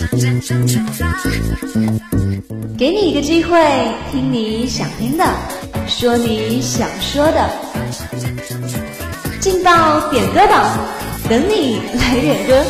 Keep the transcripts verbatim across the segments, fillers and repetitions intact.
给你一个机会，听你想听的，说你想说的，劲爆点歌榜，等你来点歌。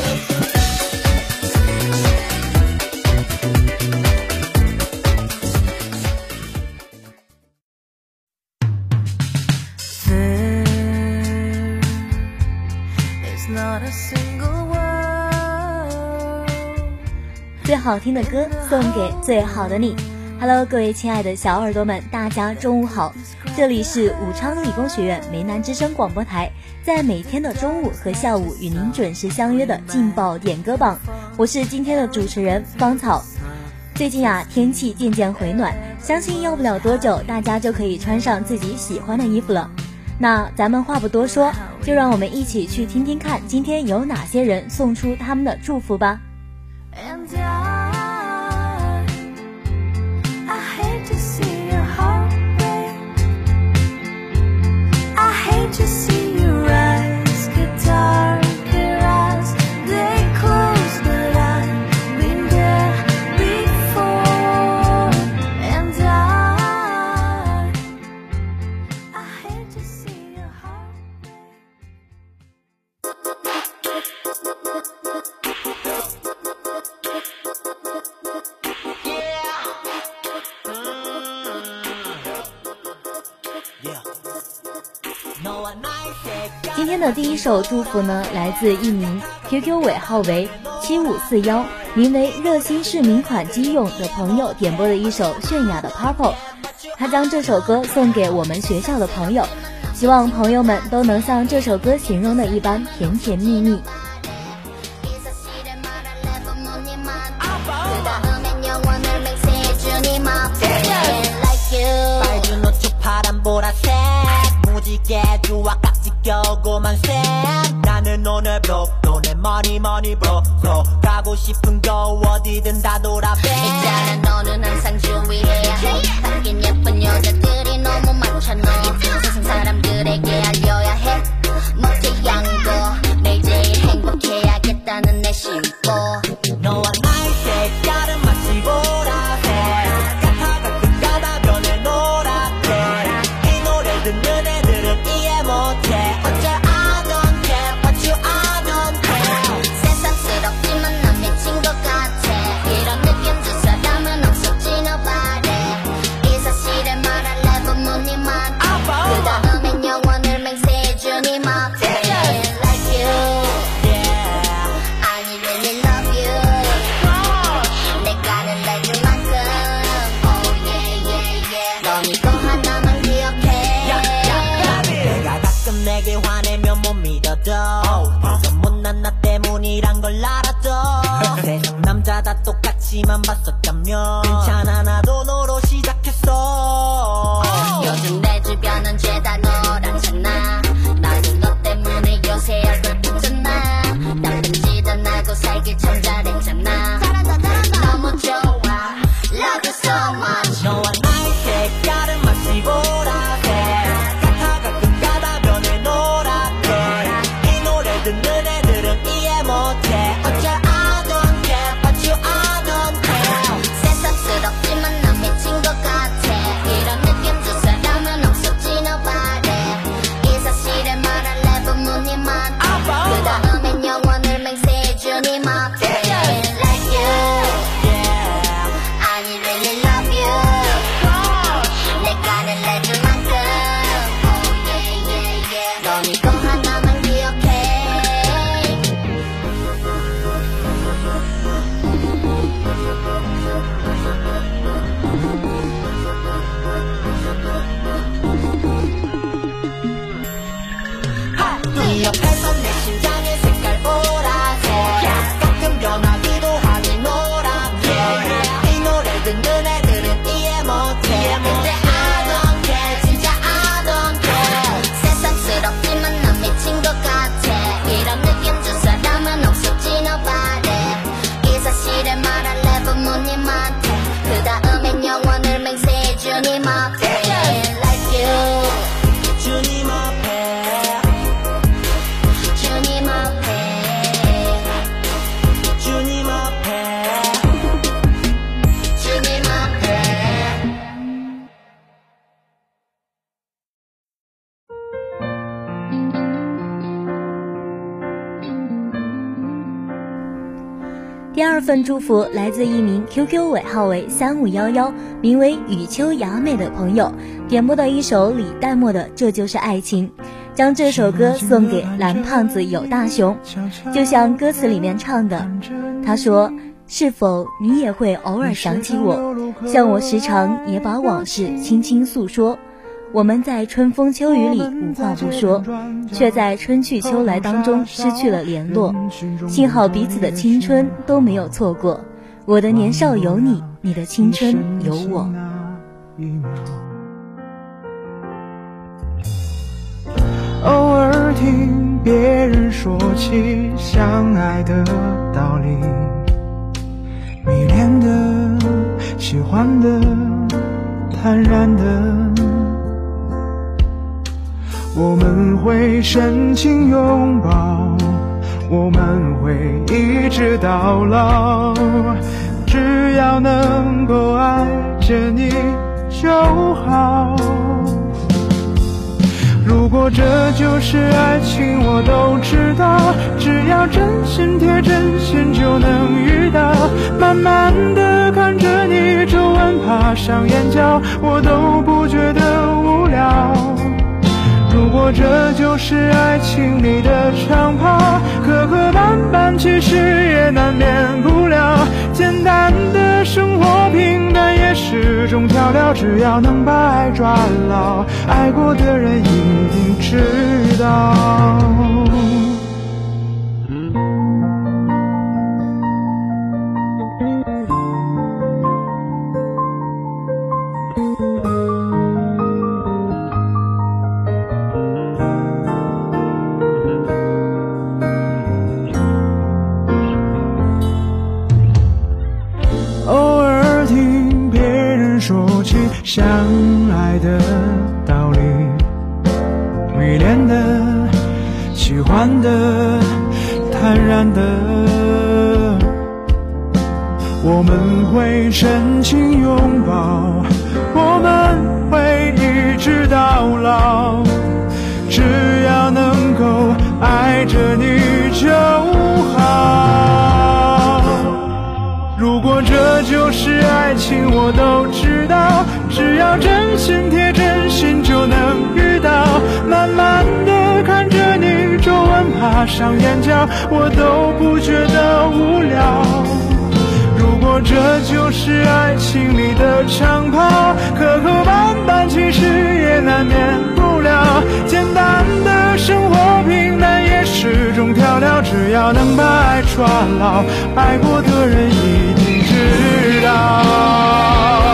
最好听的歌送给最好的你。 Hello， 各位亲爱的小耳朵们，大家中午好，这里是武昌理工学院梅南之声广播台，在每天的中午和下午与您准时相约的劲爆点歌榜，我是今天的主持人芳草。最近啊，天气渐渐回暖，相信要不了多久，大家就可以穿上自己喜欢的衣服了。那咱们话不多说，就让我们一起去听听看今天有哪些人送出他们的祝福吧。And I, I hate to see your heart break. I hate to see your eyes get darker as they close, but I've been there before. And I, I hate to see your heart break.今天的第一首祝福呢，来自一名 Q Q 尾号为七五四一，名为热心市民款机用的朋友点播的一首泫雅的 Purple， 他将这首歌送给我们学校的朋友，希望朋友们都能像这首歌形容的一般甜甜蜜蜜。 있잖아 너는 항상 주의해야 해 바뀐 예쁜 여자들이 너무 많잖아 세상 사람들에게 알려야 해 멋진 양보 매일 제일 행복해야겠다는 내 심보 너와 나의 색깔은 마치 보라색 같아가 끝가다 변해 노랗게 이 노래 듣는 애들은 이해 못해 어쩔 I don't care what you I don't care 새삼스럽지만 난 미친 것 같아 이런 느낌 준 사람은 없었지 nobody 이 사실을 말할래 부모님한테 그 다음엔 영원을 맹세해주니 my friend like you I really love you 내가 내줄 만큼 oh yeah yeah yeah 넌 이거 하나만 기억해 내가 가끔 내게 화내면 못 믿어도 그래서 못난 나 때문이란 걸 알아도 세상 남자 다 똑같이만 봤었다면 괜찮아 나도 너로 시작했어 요즘 내 주변은 죄다 너라잖아 나도 너 때문에 요새 얼굴 붓잖아 나쁜 짓 안 하고 살길 참 잘했잖아 잘한다 잘한다 너무 좋아 Love you so much 너와 나의 색깔은 마치 보라색 같아가 끝가다 변해 노랗게 이 노래 듣는 애들은 이해 못해 어쩔 I don't care what you I don't care 새삼스럽지만 난 미친 것 같아 이런 느낌 준 사람은 없었지 nobody 이 사실을 말할래 부모님한테 그 다음엔 영원을 맹세해주니 my friend like you I really love you 내가 내줄 만큼 oh yeah yeah yeah 넌 이거 하나만 기억해 第二份祝福来自一名 Q Q 尾号为三五一一，名为雨秋雅美的朋友，点播的一首李代沫的《这就是爱情》，将这首歌送给蓝胖子有大熊。就像歌词里面唱的，他说，是否你也会偶尔想起我，像我时常也把往事轻轻诉说，我们在春风秋雨里无话不说，却在春去秋来当中失去了联络，幸好彼此的青春都没有错过，我的年少有你，你的青春有我。 偶尔听别人说起相爱的道理，迷恋的，喜欢的，坦然的，我们会深情拥抱，我们会一直到老，只要能够爱着你就好。如果这就是爱情，我都知道，只要真心贴真心就能遇到，慢慢地看着你皱纹爬上眼角，我都不觉得无聊。如果这就是爱情里的长跑，磕磕绊绊其实也难免不了，简单的生活平淡也是种调料，只要能把爱抓牢，爱过的人一定知道。相爱的道理，迷恋的，喜欢的，坦然的，我们会深情拥抱，我们会一直到老，只要能够爱着你就好。如果这就是爱情，我都知道，只要真心贴真心就能遇到，慢慢地看着你皱纹爬上眼角，我都不觉得无聊。如果这就是爱情里的长跑，磕磕绊绊其实也难免不了，简单的生活平淡也是种调料，只要能把爱抓牢，爱过的人一定知道。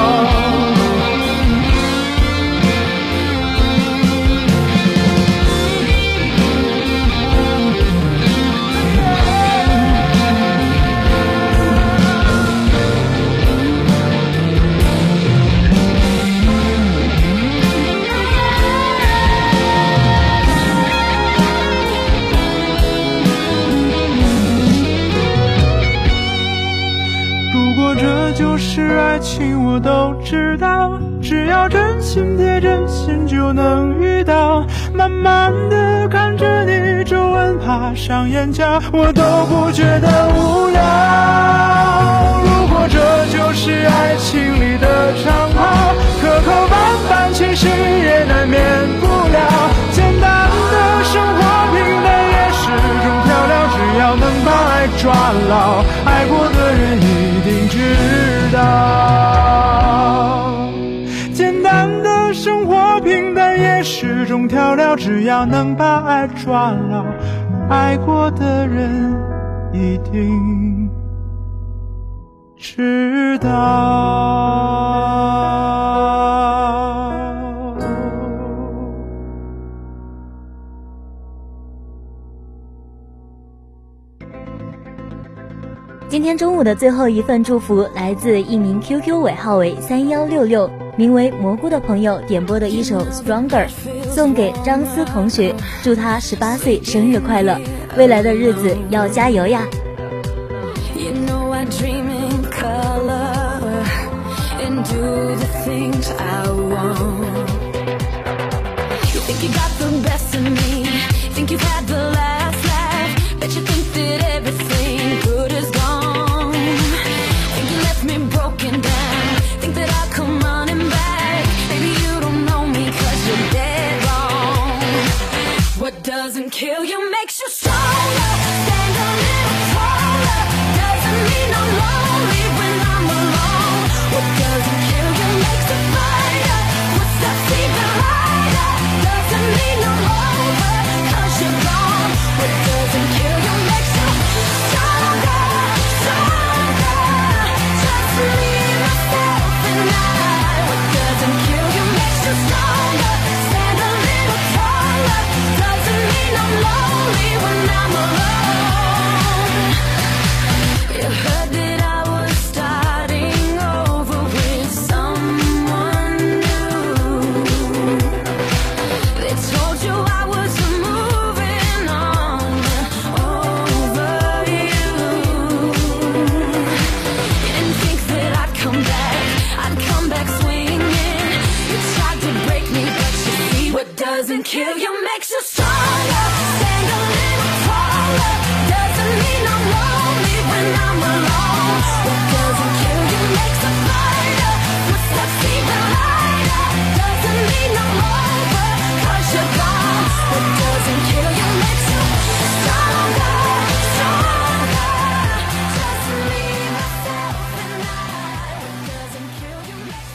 就是爱情，我都知道，只要真心贴真心就能遇到，慢慢地看着你皱纹爬上眼角，我都不觉得无聊。如果这就是爱情里的长跑，磕磕绊绊其实也难免不了，简单的生活平淡也是种调料，只要能把爱抓牢，爱过的人一定知道。简单的生活平淡也是种调料，只要能把爱抓牢，爱过的人一定知道。 今天中午的最后一份祝福来自一名 Q Q 尾号为三一六六，名为蘑菇的朋友点播的一首 Stronger， 送给张思同学，祝他十八岁生日快乐，未来的日子要加油呀。 Think you've had the last laugh, bet you think that everything good is gone.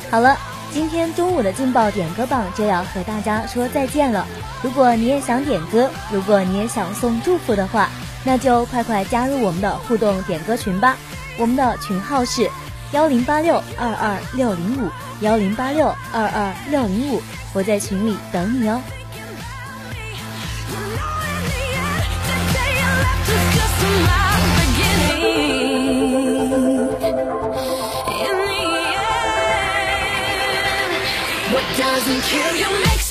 好了，今天中午的劲爆点歌榜就要和大家说再见了。如果你也想点歌，如果你也想送祝福的话，那就快快加入我们的互动点歌群吧。我们的群号是幺零八六二二六零五幺零八六二二六零五，我在群里等你哦。 What doesn't kill you makes